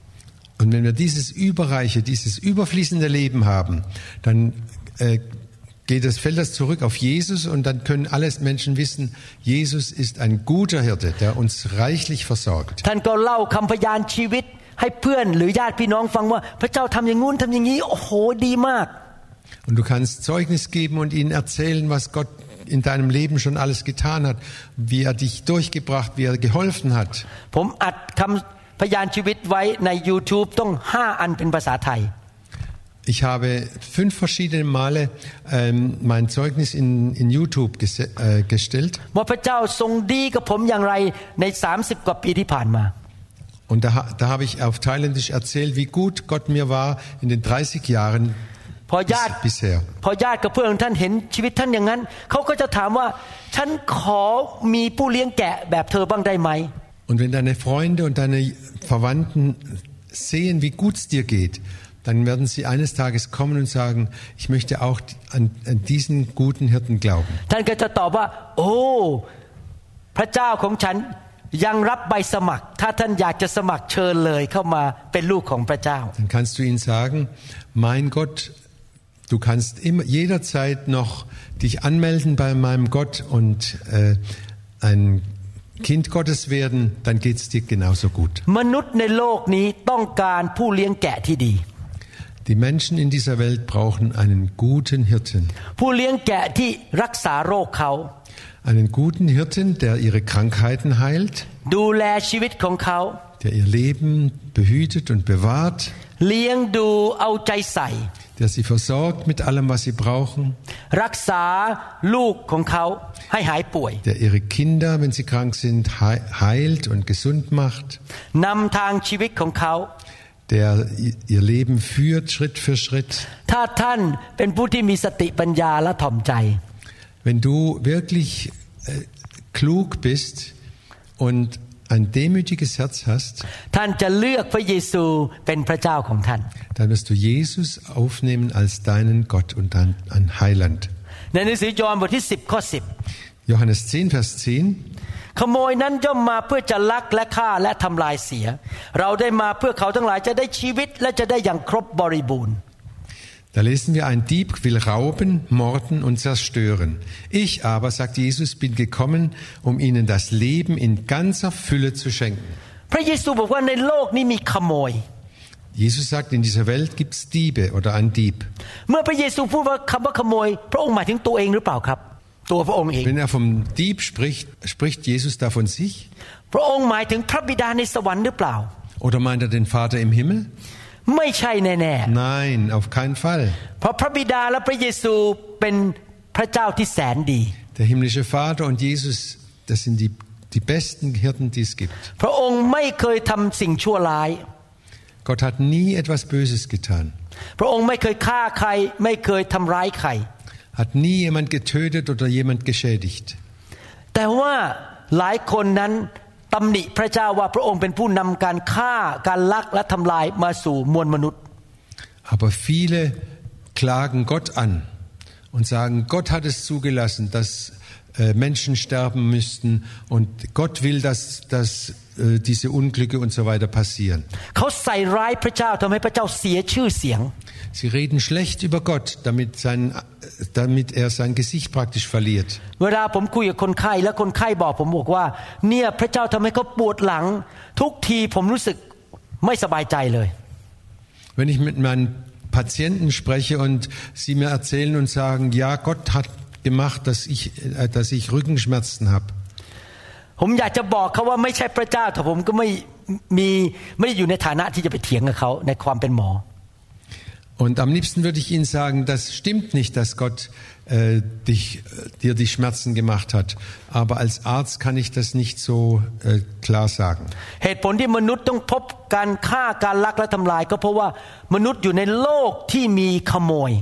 Und wenn wir dieses überreiche, dieses überfließende Leben haben, dann äh, geht das, fällt das zurück auf Jesus und dann können alle Menschen wissen, Jesus ist ein guter Hirte, der uns reichlich versorgt. ท่านก็เล่าคำพยานชีวิตให้เพื่อนหรือญาติพี่น้องฟังว่าพระเจ้าทำอย่างงู้นทำอย่างนี้โอ้โหดีมาก Und du kannst Zeugnis geben und ihnen erzählen, was Gott in deinem Leben schon alles getan hat, wie er dich durchgebracht, wie er geholfen hat. ผมอัดคำพยานชีวิตไว้ใน YouTube ต้องห้าอันเป็นภาษาไทย Ich habe fünf verschiedene Male ähm, mein Zeugnis in, in YouTube ges- äh, gestellt. ว่าพระเจ้าทรงดีกับผมอย่างไรในสามสิบกว่าปีที่ผ่านมา Und da, da habe ich auf Thailändisch erzählt, wie gut Gott mir war in den dreißig Jahren พอญาติ bisher. พอญาติกับเพื่อนของท่านเห็นชีวิตท่านอย่างนั้นเขาก็จะถามว่าฉันขอมีผู้เลี้ยงแกะแบบเธอบ้างได้ไหม Und wenn deine Freunde und deine Verwandten sehen, wie gut es dir geht, dann werden sie eines Tages kommen und sagen, ich möchte auch an, an diesen guten Hirten glauben. ท่านก็จะตอบว่าโอ้พระเจ้าของฉันยังรับใบสมัครถ้าท่านอยากจะสมัครเชิญเลยเข้ามาเป็นลูกของพระเจ้า Dann kannst du ihnen sagen, mein Gott, du kannst immer jederzeit noch dich anmelden bei meinem Gott und äh, ein Kind Gottes werden, dann geht es dir genauso gut. มนุษย์ในโลกนี้ต้องการผู้เลี้ยงแกะที่ดี Die Menschen in dieser Welt brauchen einen guten Hirten. ผู้เลี้ยงแกะที่รักษาโรคเขา Einen guten Hirten, der ihre Krankheiten heilt, ดูแลชีวิตของเขา der ihr Leben behütet und bewahrt, เลี้ยงดูเอาใจใส่ der sie versorgt mit allem, was sie brauchen, รักษาลูกของเขาให้หายป่วย der ihre Kinder, wenn sie krank sind, heilt und gesund macht, นำทางชีวิตของเขา der ihr Leben führt Schritt für Schritt. ถ้าท่านเป็นผู้ที่มีสติปัญญาและถ่อมใจ Wenn du wirklich äh, klug bist und ein demütiges Herz hast, ท่านจะเลือกพระเยซูเป็นพระเจ้าของท่าน dann wirst du Jesus aufnehmen als deinen Gott und dein Heiland. ในหนังสือยอห์นบทที่สิบข้อสิบ Johannes zehn, Vers zehn. ขโมยนั้นย่อมมาเพื่อจะลักและฆ่าและทำลายเสียเราได้มาเพื่อเขาทั้งหลายจะได้ชีวิตและจะได้อย่างครบบริบูรณ์ Da lesen wir, ein Dieb will rauben, morden und zerstören. Ich aber, sagt Jesus, bin gekommen, um ihnen das Leben in ganzer Fülle zu schenken. พระเยซูบอกว่าในโลกนี้มีขโมย Jesus sagt, in dieser Welt gibt es Diebe oder ein Dieb. เมื่อพระเยซูพูดว่าคำว่าขโมยพระองค์หมายถึงตัวเองหรือเปล่าครับตัวพระองค์เอง Wenn er vom Dieb spricht, spricht Jesus da von sich? พระองค์หมายถึงพระบิดาในสวรรค์หรือเปล่า Oder meint er den Vater im Himmel? ไม่ใช่แน่ๆ Nein, auf keinen Fall. เพราะพระบิดาและพระเยซูเป็นพระเจ้าที่แสนดี Der himmlische Vater und Jesus, das sind die, die besten Hirten, die es gibt. พระองค์ไม่เคยทำสิ่งชั่วร้าย Gott hat nie etwas Böses getan. พระองค์ไม่เคยฆ่าใครไม่เคยทำร้ายใคร Hat nie jemand getötet oder jemand geschädigt. แต่ว่าหลายคนนั้นตำหนิพระเจ้าว่าพระองค์เป็นผู้นำการฆ่าการลักและทำลายมาสู่มวลมนุษย์ Aber viele klagen Gott an und sagen, Gott hat es zugelassen, dass äh, Menschen sterben müssten und Gott will, dass, dass äh, diese Unglücke und so weiter passieren. เขาใส่ร้ายพระเจ้าทำให้พระเจ้าเสียชื่อเสียง Sie reden schlecht über Gott, damit, sein, damit er sein Gesicht praktisch verliert. เวลาผมคุยกับคนไข้แล้วคนไข้บอกผมบอกว่าเนี่ยพระเจ้าทำให้เขาปวดหลังทุกทีผมรู้สึกไม่สบายใจเลย Wenn ich mit meinen Patienten spreche und sie mir erzählen und sagen, ja, Gott hat gemacht, dass ich, äh, dass ich Rückenschmerzen habe. ผมอยากจะบอกเขาว่าไม่ใช่พระเจ้าแต่ผมก็ไม่มีไม่ได้อยู่ในฐานะที่จะไปเถียงกับเขาในความเป็นหมอ Und am liebsten würde ich Ihnen sagen, das stimmt nicht, dass Gott äh, dich, dir die Schmerzen gemacht hat. Aber als Arzt kann ich das nicht so äh, klar sagen. เหตุผลที่มนุษย์ต้องพบการฆ่าการลักและทำลายก็เพราะว่ามนุษย์อยู่ในโลกที่มีขโมย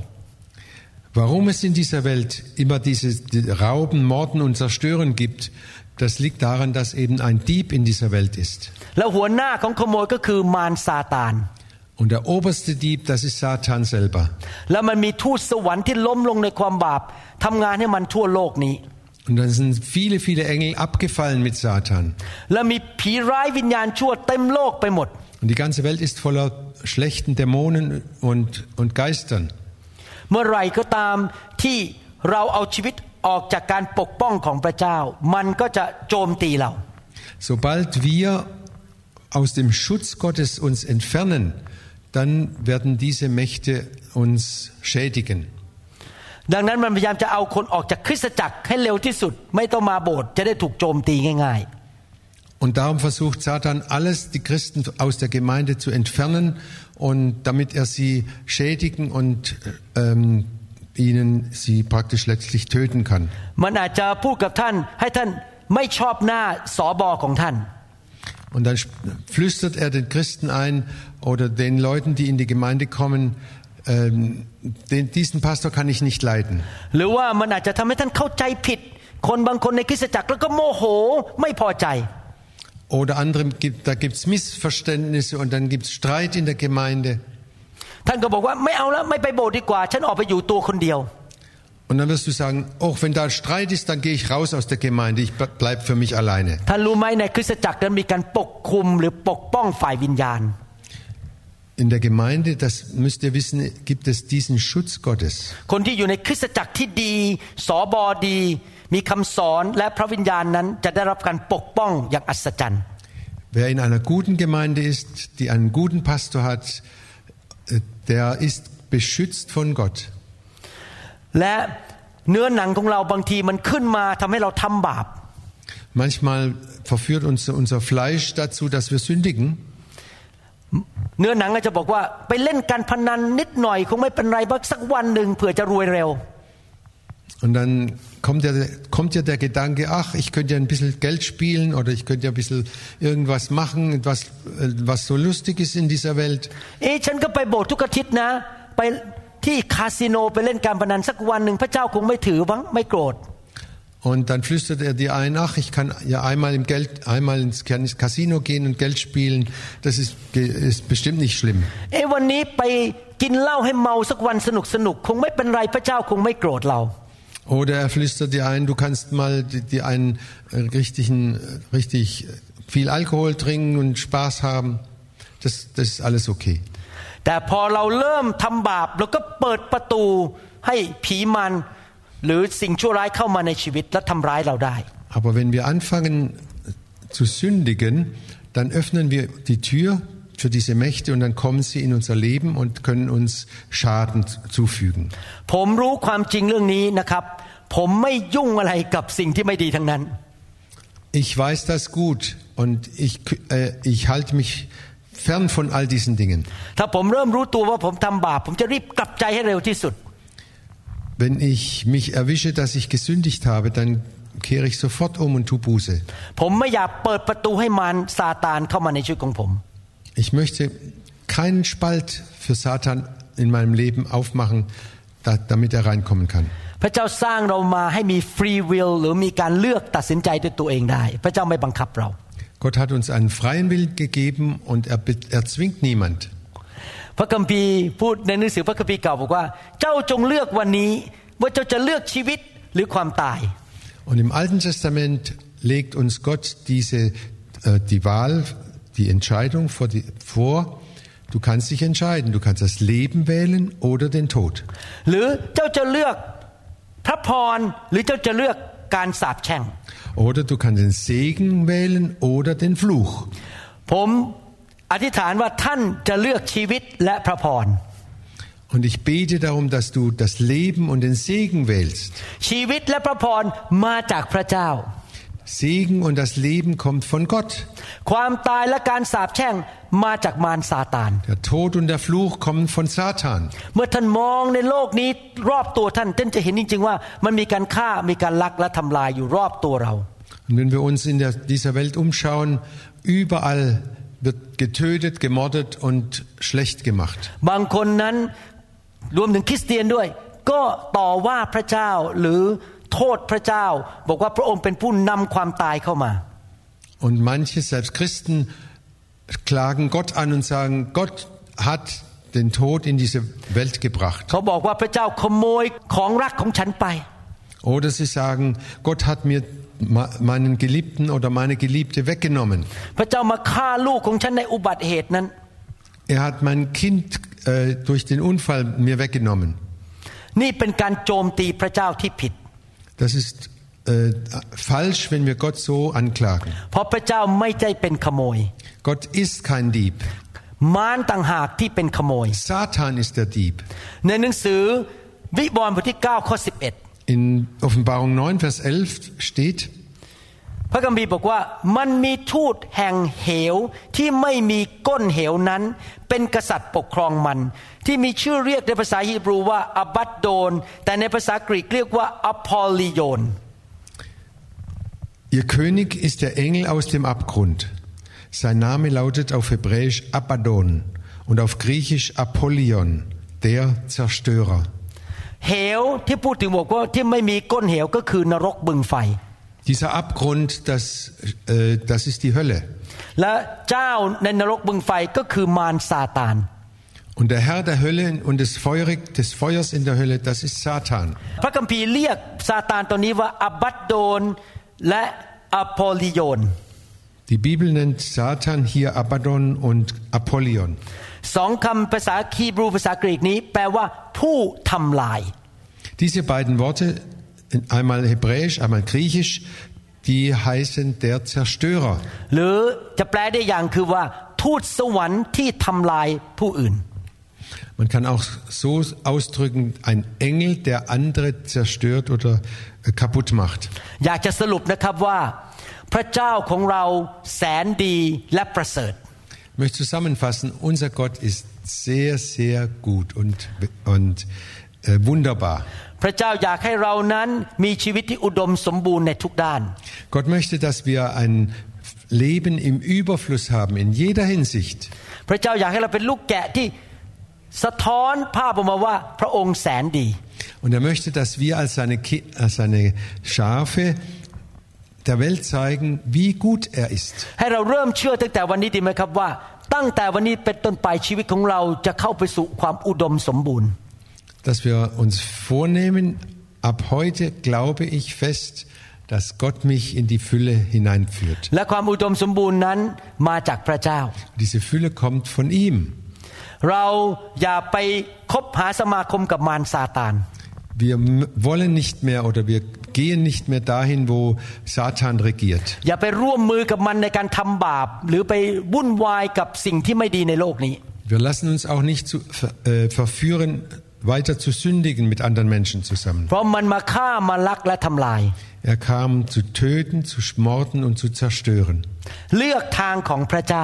Warum es in dieser Welt immer dieses Rauben, Morden und Zerstören gibt, das liegt daran, dass eben ein Dieb in dieser Welt ist. แล้วหัวหน้าของขโมยก็คือมารซาตาน Und der oberste Dieb, das ist Satan selber. แล้วมันมีทูตสวรรค์ที่ล้มลงในความบาปทำงานให้มันทั่วโลกนี้ Und dann sind viele, viele Engel abgefallen mit Satan. แล้วมีผีร้ายวิญญาณชั่วเต็มโลกไปหมด Und die ganze Welt ist voller schlechten Dämonen und, und Geistern. เมื่อไรก็ตามที่เราเอาชีวิตออกจากการปกป้องของพระเจ้ามันก็จะโจมตีเรา Sobald wir aus dem Schutz Gottes uns entfernen, dann werden diese Mächte uns schädigen. ดังนั้นมันพยายามจะเอาคนออกจากคริสตจักรให้เร็วที่สุดไม่ต้องมาโบสถ์จะได้ถูกโจมตีง่ายๆ Und darum versucht Satan alles, die Christen aus der Gemeinde zu entfernen und damit er sie schädigen und ähm, ihnen sie praktisch letztlich töten kann. มันอาจจะพูดกับท่านให้ท่านไม่ชอบหน้าสบของท่าน Und dann flüstert er den Christen ein oder den Leuten, die in die Gemeinde kommen, ähm, den, diesen Pastor kann ich nicht leiden. หรือว่ามันอาจจะทำให้ท่านเข้าใจผิดคนบางคนในคริสตจักรแล้วก็โมโหไม่พอใจ Oder andere gibt, da gibt's Missverständnisse und dann gibt's Streit in der Gemeinde. ท่านก็บอกว่าไม่เอาแล้วไม่ไปโบสถ์ดีกว่าฉันออกไปอยู่ตัวคนเดียว Und dann wirst du sagen, oh, wenn da Streit ist, dann gehe ich raus aus der Gemeinde, ich bleib für mich alleine. ท่านรู้ไหมในคริสตจักรนั้นมีการปกคุมหรือปกป้องฝ่ายวิญญาณ In der Gemeinde, das müsst ihr wissen, gibt es diesen Schutz Gottes. คนที่อยู่ในคริสตจักรที่ดีสบดีมีคำสอนและพระวิญญาณนั้นจะได้รับการปกป้องอย่างอัศจรรย์ Wer in einer guten Gemeinde ist, die einen guten Pastor hat, der ist beschützt von Gott. และเนื้อหนังของเราบางทีมันขึ้นมาทำให้เราทำบาป Manchmal verführt uns unser Fleisch dazu, dass wir sündigen. เนื้อหนังก็จะบอกว่าไปเล่นการพนันนิดหน่อยคงไม่เป็นไรบ้างสักวันหนึ่งเผื่อจะรวยเร็ว Und dann kommt ja, kommt ja der Gedanke, ach, ich könnte ja ein bisschen Geld spielen oder ich könnte ja ein bisschen irgendwas machen, was, was so lustig ist in dieser Welt. เอ๊ะฉันก็ไปโบสถ์ทุกอาทิตย์นะไปที่คาสิโนไปเล่นการพนันสักวันหนึ่งพระเจ้าคงไม่ถือบ้างไม่โกรธ Und dann flüstert er dir ein, ach, ich kann ja einmal im Geld, einmal ins Casino gehen und Geld spielen, das ist, ist bestimmt nicht schlimm. เอ๊ะวันนี้ไปกินเหล้าให้เมาสักวันสนุกสนุกคงไม่เป็นไรพระเจ้าคงไม่โกรธเรา Oder er flüstert dir ein, du kannst mal dir einen richtigen, richtig viel Alkohol trinken und Spaß haben. Das, das ist alles okay. แต่พอเราเริ่มทำบาปเราก็เปิดประตูให้ผีมารหรือสิ่งชั่วร้ายเข้ามาในชีวิตและทำร้ายเราได้ Aber wenn wir anfangen zu sündigen, dann öffnen wir die Tür für diese Mächte und dann kommen sie in unser Leben und können uns Schaden zufügen. ผมรู้ความจริงเรื่องนี้นะครับผมไม่ยุ่งอะไรกับสิ่งที่ไม่ดีทั้งนั้น Ich weiß das gut und ich äh, ich halte mich fern von all diesen Dingen. ถ้าผมเริ่มรู้ตัวว่าผมทำบาปผมจะรีบกลับใจให้เร็วที่สุด Wenn ich mich erwische, dass ich gesündigt habe, dann kehre ich sofort um und tu Buße. ผมไม่อยากเปิดประตูให้มารซาตานเข้ามาในชีวิตของผม Ich möchte keinen Spalt für Satan in meinem Leben aufmachen, da, damit er reinkommen kann. พระเจ้าสร้างเรามาให้มี free will หรือมีการเลือกตัดสินใจด้วยตัวเองได้พระเจ้าไม่บังคับเรา Gott hat uns einen freien Willen gegeben und er, er zwingt niemand. พระคัมภีร์พูดในหนังสือพระคัมภีร์เก่าบอกว่าเจ้าจงเลือกวันนี้ว่าเจ้าจะเลือกชีวิตหรือความตาย Und im Alten Testament legt uns Gott diese äh, die Wahl, die Entscheidung vor, die, vor. Du kannst dich entscheiden. Du kannst das Leben wählen oder den Tod. หรือเจ้าจะเลือกพระพรหรือเจ้าจะเลือกการสาปแช่ง Oder du kannst den Segen wählen oder den Fluch. ผมอธิษฐานว่าท่านจะเลือกชีวิตและพระพร Und ich bete darum, dass du das Leben und den Segen wählst. ชีวิตและพระพรมาจากพระเจ้า Segen und das Leben kommt von Gott. ความตายและการสาปแช่งมาจากมารซาตาน Der Tod und der Fluch kommen von Satan. เมื่อท่านมองในโลกนี้รอบตัวท่านท่านจะเห็นจริงๆว่ามันมีการฆ่ามีการลักและทำลายอยู่รอบตัวเรา Und wenn wir uns in der, dieser Welt umschauen, überall wird getötet, gemordet und schlecht gemacht. บางคนนั้นรวมถึงคริสเตียนด้วยก็ต่อว่าพระเจ้าหรือโทษพระเจ้าบอกว่าพระองค์เป็นผู้นำความตายเข้ามา Und manche, selbst Christen, klagen Gott an und sagen, Gott hat den Tod in diese Welt gebracht. เขาบอกว่าพระเจ้าขโมยของรักของฉันไป Oder sie sagen, Gott hat mir meinen Geliebten oder meine Geliebte weggenommen. พระเจ้ามาฆ่าลูกของฉันในอุบัติเหตุนั้น Er hat mein Kind äh, durch den Unfall mir weggenommen. นี่เป็นการโจมตีพระเจ้าที่ผิด Das ist äh, falsch, wenn wir Gott so anklagen. เพราะพระเจ้าไม่ได้เป็นขโมย Gott ist kein Dieb. มารต่างหากที่เป็นขโมย Satan ist der Dieb. ในหนังสือวิวรณ์บทที่เก้าข้อสิบเอ็ด In Offenbarung neun, Vers elf steht, พระคัมภีร์บอกว่ามันมีทูตแห่งเหวที่ไม่มีก้นเหวนั้นเป็นกษัตริย์ปกครองมันที่มีชื่อเรียกในภาษาฮีบรูว่าอับัดโดนแต่ในภาษากรีกเรียกว่าอพอลลิโยน Ihr König ist der Engel aus dem Abgrund. Sein Name lautet auf Hebräisch Abaddon und auf Griechisch Apollyon, der Zerstörer. เหวที่พูดถึงบอกว่าที่ไม่มีก้นเหวก็คือนรกบึงไฟ Dieser Abgrund, das, äh, das ist die Hölle. และเจ้าในนรกบึงไฟก็คือมารซาตาน Und der Herr der Hölle und des, Feurig, des Feuers in der Hölle, das ist Satan. พระคัมภีร์เรียกซาตานตัวนี้ว่าอับัดโดนและอพอลลิโยน Die Bibel nennt Satan hier Abaddon und Apollyon. สองคำภาษาฮีบรูภาษากรีกนี้แปลว่าผู้ทำลาย Diese beiden Worte, einmal hebräisch, einmal griechisch, die heißen der Zerstörer. หรือจะแปลได้อย่างคือว่าทูตสวรรค์ที่ทำลายผู้อื่น Man kann auch so ausdrücken, ein Engel, der andere zerstört oder kaputt macht. อยากจะสรุปนะครับว่าพระเจ้าของเราแสนดีและประเสริฐ Ich möchte zusammenfassen, unser Gott ist sehr, sehr gut und, und äh, wunderbar. พระเจ้าอยากให้เรานั้นมีชีวิตที่อุดมสมบูรณ์ในทุกด้าน Gott möchte, dass wir ein Leben im Überfluss haben, in jeder Hinsicht. พระเจ้าอยากให้เราเป็นลูกแกะที่สะท้อนภาพออกมาว่าพระองค์แสนดี Und er möchte, dass wir als seine, als seine Schafe der Welt zeigen, wie gut er ist. ให้เราเริ่มเชื่อตั้งแต่วันนี้ดีไหมครับว่าตั้งแต่วันนี้เป็นต้นไปชีวิตของเราจะเข้าไปสู่ความอุดมสมบูรณ์ Dass wir uns vornehmen, ab heute glaube ich fest, dass Gott mich in die Fülle hineinführt. และความอุดมสมบูรณ์นั้นมาจากพระเจ้า Diese Fülle kommt von ihm. เราอย่าไปคบหาสมาคมกับมารซาตาน Wir wollen nicht mehr oder wir gehen nicht mehr dahin, wo Satan regiert. อย่าไปร่วมมือกับมันในการทำบาปหรือไปวุ่นวายกับสิ่งที่ไม่ดีในโลกนี้ Wir lassen uns auch nicht zu, äh, verführen, weiter zu sündigen mit anderen Menschen zusammen. เพราะมันมาฆ่ามาลักและทำลาย Er kam zu töten, zu morden und zu zerstören. เลือกทางของพระเจ้า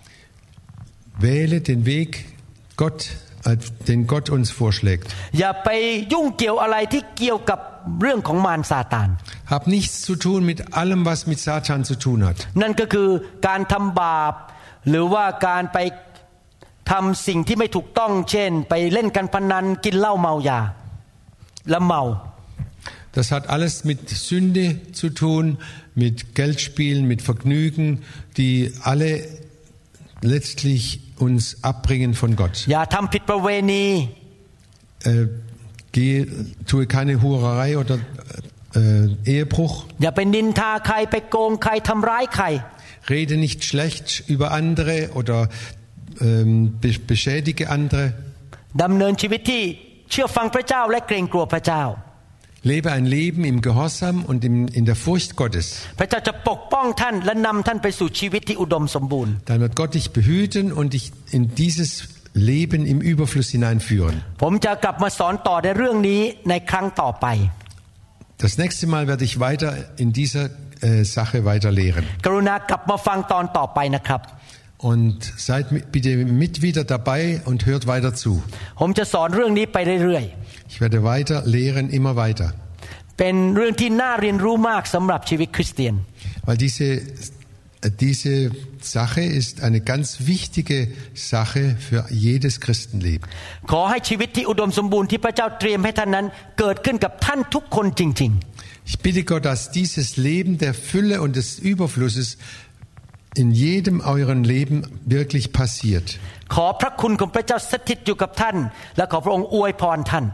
Wähle den Weg, Gott, äh, den Gott uns vorschlägt. อย่าไปยุ่งเกี่ยวอะไรที่เกี่ยวกับเรื่องของมารซาตาน Hab nichts zu tun mit allem, was mit Satan zu tun hat. นั่นก็คือการทำบาปหรือว่าการไปทำสิ่งที่ไม่ถูกต้องเช่นไปเล่นการพนันกินเหล้าเมายาและเมา Das hat alles mit Sünde zu tun, mit Geldspielen, mit Vergnügen, die alle letztlich uns abbringen von Gott. อย่าทำผิดประเวณี Äh, gehe, tue keine Hurerei oder äh, Ehebruch. อย่าไปนินทาใครไปโกงใครทำร้ายใคร Rede nicht schlecht über andere oder ähm, be beschädige andere. ดำเนินชีวิตที่เชื่อฟังพระเจ้าและเกรงกลัวพระเจ้า Lebe ein Leben im Gehorsam und im, in der Furcht Gottes. พระเจ้าจะปกป้องท่านและนำท่านไปสู่ชีวิตที่อุดมสมบูรณ์ Dann wird Gott dich behüten und dich in dieses Leben im Überfluss hineinführen. ผมจะกลับมาสอนต่อในเรื่องนี้ในครั้งต่อไป Das nächste Mal werde ich weiter in dieser äh, Sache weiter lehren. กรุณากลับมาฟังตอนต่อไปนะครับ Und seid bitte mit wieder dabei und hört weiter zu. ผมจะสอนเรื่องนี้ไปเรื่อย Ich werde weiter lehren, immer weiter. ๆเป็นเรื่องที่น่าเรียนรู้มากสำหรับชีวิตคริสเตียน Weil diese, diese Sache ist eine ganz wichtige Sache für jedes Christenleben. ขอให้ชีวิตที่อุดมสมบูรณ์ที่พระเจ้าเตรียมให้ท่านนั้นเกิดขึ้นกับท่านทุกคนจริง Ich bitte Gott, dass dieses Leben der Fülle und des Überflusses in jedem euren Leben wirklich passiert. ๆขอพระคุณของพระเจ้าสถิตอยู่กับท่านและขอพระองค์อวยพรท่าน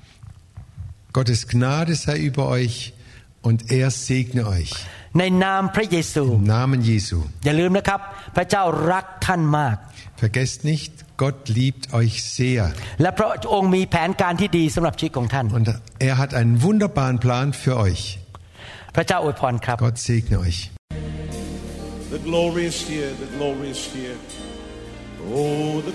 Gottes Gnade sei über euch und er segne euch. ในนามพระเยซู Im Namen Jesu. อย่าลืมนะครับพระเจ้ารักท่านมาก Vergesst nicht, Gott liebt euch sehr. และพระองค์มีแผนการที่ดีสำหรับชีวิตของท่าน Und er hat einen wunderbaren Plan für euch. พระเจ้าอวยพรครับ Gott segne euch. The glory is here, the glory is here. Oh, the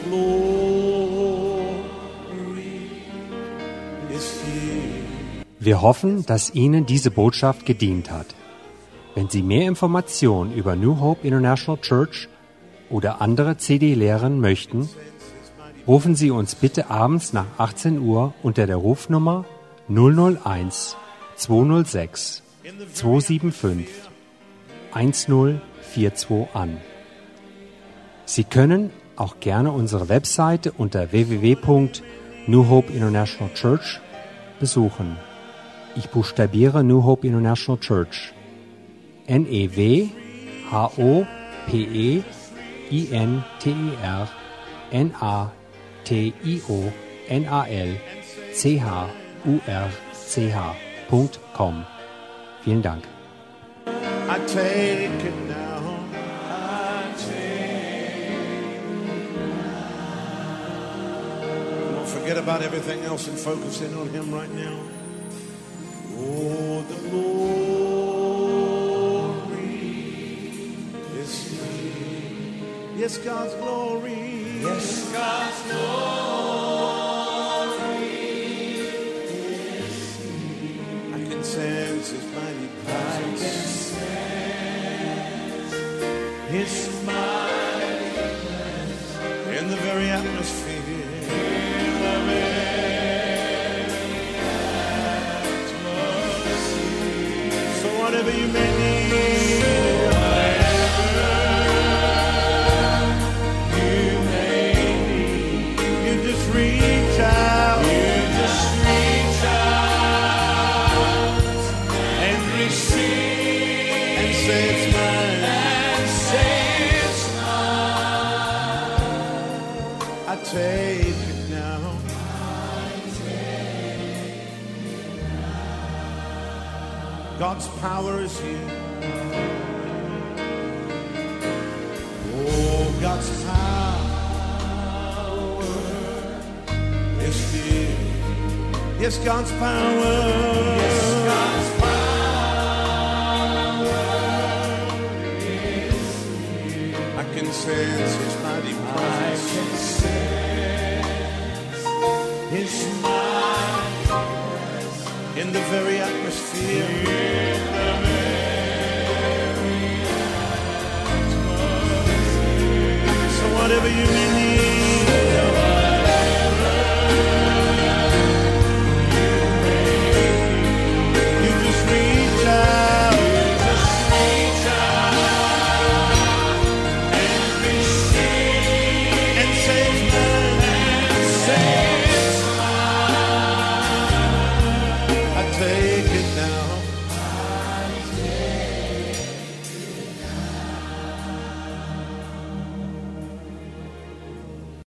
glory is here. Wir hoffen, dass Ihnen diese Botschaft gedient hat. Wenn Sie mehr Informationen über New Hope International Church oder andere C D lehren möchten, rufen Sie uns bitte abends nach achtzehn Uhr unter der Rufnummer null null eins zwei null sechs zwei sieben fünf eins null vier zwei an. Sie können auch gerne unsere Webseite unter w w w punkt new hope international church besuchen. Ich buchstabiere New Hope International Church. N E W H O P E I N T E R N A T I O N A L C H U R C H punkt com. Vielen Dank. I take it now. I take it now. Don't forget about everything else and focus in on Him right now. Oh, the glory is here. Yes, God's glory. Yes, God's glory is here. I can sense His mighty presence. His mighty presence in the very atmosphere. In the very atmosphere. So whatever you may need, whatever you may need, you just reach out. You just reach out and receive and say it's mine. I take it now. God's power is here. Oh, God's power Yes, God's power. Yes, God's power is here. I can sense His mighty presence. I can sense His mighty presence in the very atmosphere.